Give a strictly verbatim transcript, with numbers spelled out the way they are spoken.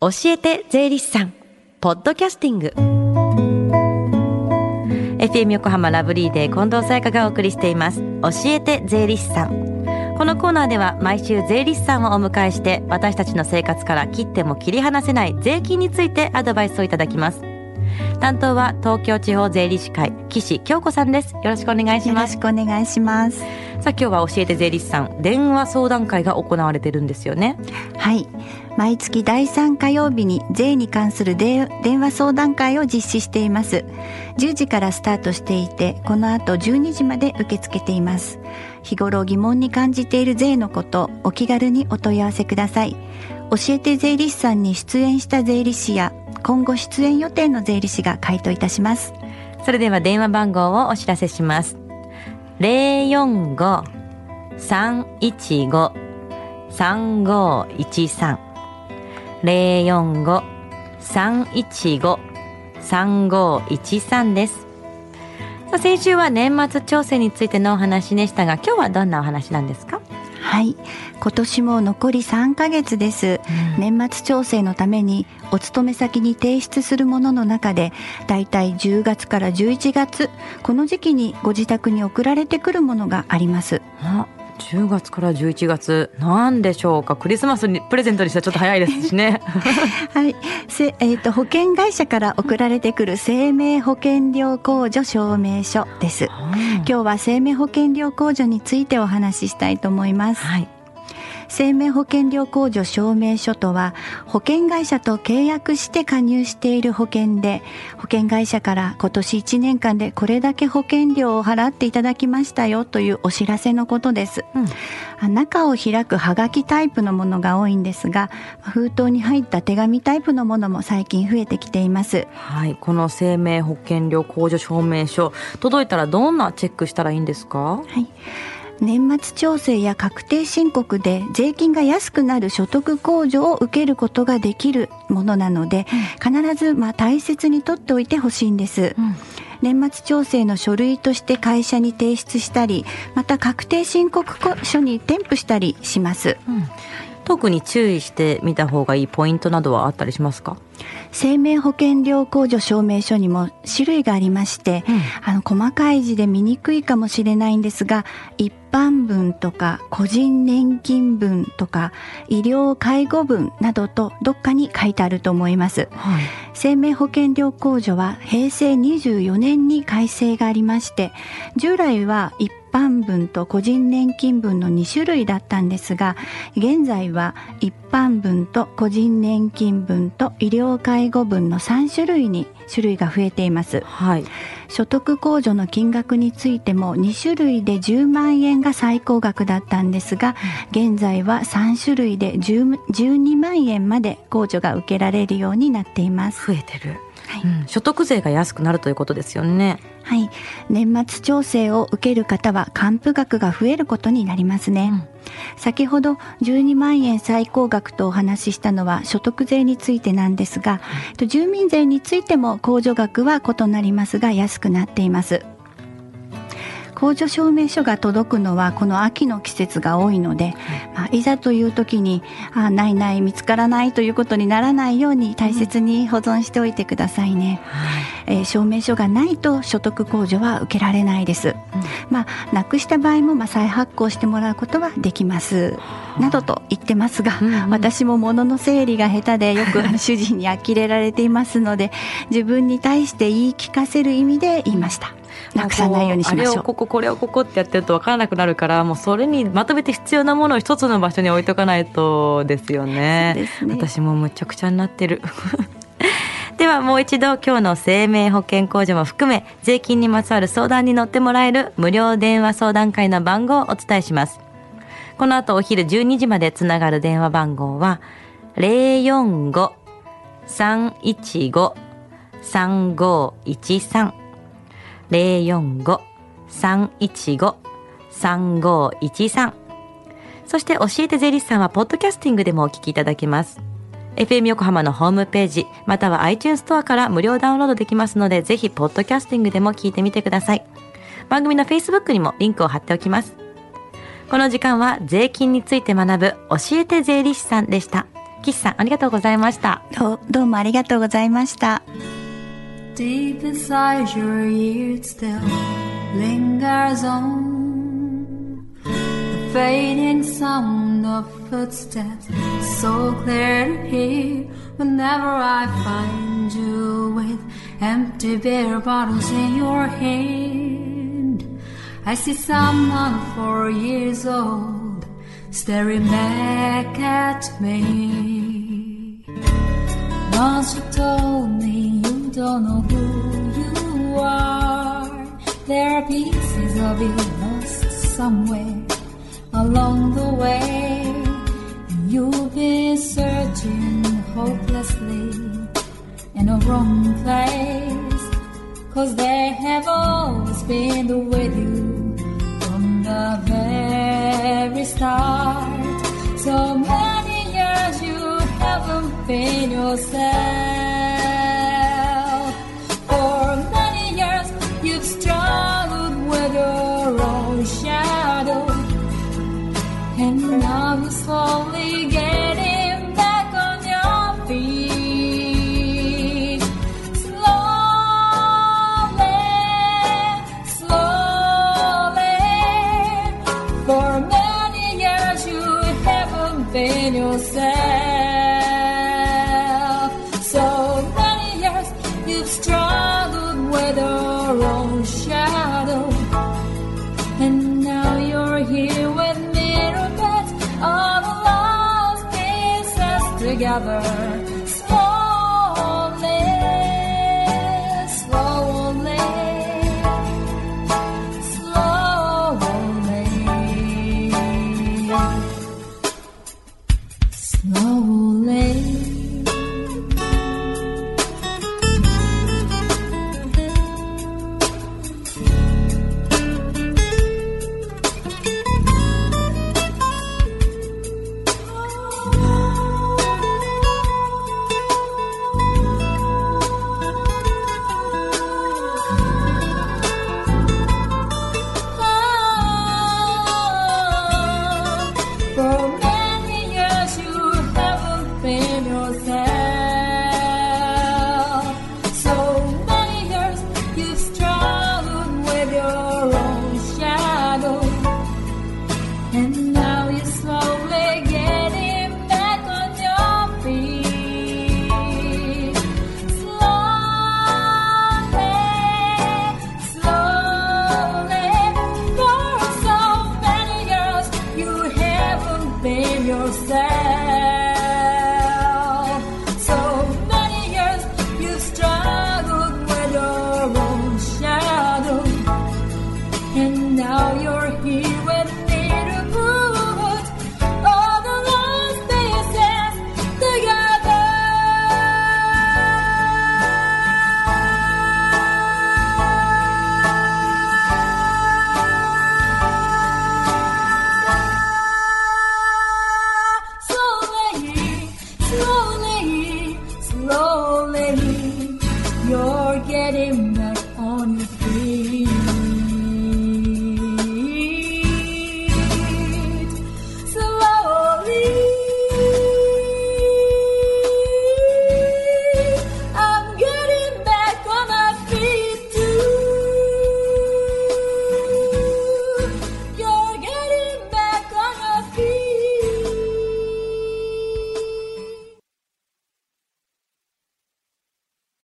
教えて税理士さんポッドキャスティング エフエム 横浜ラブリーで近藤沙耶香がお送りしています。教えて税理士さん。このコーナーでは毎週税理士さんをお迎えして私たちの生活から切っても切り離せない税金についてアドバイスをいただきます。担当は東京地方税理士会岸京子さんです。よろしくお願いします。 よろしくお願いします。 さあ今日は教えて税理士さん電話相談会が行われてるんですよね。 はい、毎月だいさん火曜日に税に関する電話相談会を実施しています。じゅうじからスタートしていて、この後じゅうにじまで受け付けています。日頃疑問に感じている税のこと、お気軽にお問い合わせください。教えて税理士さんに出演した税理士や今後出演予定の税理士が回答いたします。 それでは電話番号をお知らせします。 ゼロよんご さんいちご さんごいちさん ゼロよんご さんいちご さんごいちさん です。さあ先週は年末調整についてのお話でしたが、今日はどんなお話なんですか？ はい、今年も残りさんかげつです、うん、年末調整のためにお勤め先に提出するものの中でだいたいじゅうがつからじゅういちがつ、この時期にご自宅に送られてくるものがあります。 あ、じゅうがつからじゅういちがつ、なんでしょうか。クリスマスにプレゼントにしたらちょっと早いですしねはい、せ、えーと、保険会社から送られてくる生命保険料控除証明書です。今日は生命保険料控除についてお話ししたいと思います。はい、生命保険料控除証明書とは、保険会社と契約して加入している保険で、保険会社から今年いちねんかんでこれだけ保険料を払っていただきましたよというお知らせのことです。うん、中を開くはがきタイプのものが多いんですが、封筒に入った手紙タイプのものも最近増えてきています。 はい、この生命保険料控除証明書届いたらどんなチェックしたらいいんですか？ はい、年末調整や確定申告で税金が安くなる所得控除を受けることができるものなので、うん、必ずまあ大切に取っておいてほしいんです。うん、年末調整の書類として会社に提出したり、また確定申告書に添付したりします。うん、 特に注意してみた方がいいポイントなどはあったりしますか？ 生命保険料控除証明書にも種類がありまして、うん、あの細かい字で見にくいかもしれないんですが、一般分とか個人年金分とか医療介護分などとどっかに書いてあると思います。はい、生命保険料控除はへいせいにじゅうよねんに改正がありまして、従来は一般分と個人年金分のにしゅるいだったんですが、現在は一般分と個人年金分と医療介護分のさんしゅるいに種類が増えています。はい、所得控除の金額についてもにしゅるいでじゅうまんえんが最高額だったんですが、現在はさんしゅるいでじゅうにまんえんまで控除が受けられるようになっています。 増えてる。はい、うん、所得税が安くなるということですよね。 はい、年末調整を受ける方は還付額が増えることになりますね。うん、先ほどじゅうにまんえん最高額とお話ししたのは所得税についてなんですが、はい、住民税についても控除額は異なりますが安くなっています。控除証明書が届くのはこの秋の季節が多いので、まあ、いざという時にあないない見つからないということにならないように大切に保存しておいてくださいね。うん、えー、証明書がないと所得控除は受けられないです。うん、まあ、なくした場合もまあ再発行してもらうことはできますなどと言ってますが、うんうん、私も物の整理が下手でよく主人に呆れられていますので自分に対して言い聞かせる意味で言いました。なくさないようにしましょう。 あれをこここれをここってやってると分からなくなるから、もうそれにまとめて必要なものを一つの場所に置いとかないとですよね。そうですね。私もむちゃくちゃになってるではもう一度今日の生命保険控除も含め税金にまつわる相談に乗ってもらえる無料電話相談会の番号をお伝えします。この後お昼じゅうにじまでつながる電話番号は ゼロよんご さんいちご さんごいちさん ゼロよんご さんいちご さんごいちさん。そして教えて税理士さんはポッドキャスティングでもお聞きいただけます。エフエム 横浜のホームページまたは iTunes ストアから無料ダウンロードできますので、ぜひポッドキャスティングでも聞いてみてください。番組の Facebook にもリンクを貼っておきます。この時間は税金について学ぶ教えて税理士さんでした。 岸さんありがとうございました。 どう、どうもありがとうございました。 Deep inside your ears still lingers on the fading sound of footsteps, so clear to hear whenever I find you with empty beer bottles in your hand. I see someone four years old staring back at me. Once you told me you don't know who you are. There are pieces of you lost somewhere along the way. You've been searching hopelessly in a wrong place, 'cause they have always been with you from the very start. So many years you haven't been yourself. For many years you've struggled with your own shadow, and now you're slowly getting back on your feet. Slowly, slowly. For many years you haven't been yourself. So many years you've struggled with your own shadow, and now you're here with me, all the lost pieces together.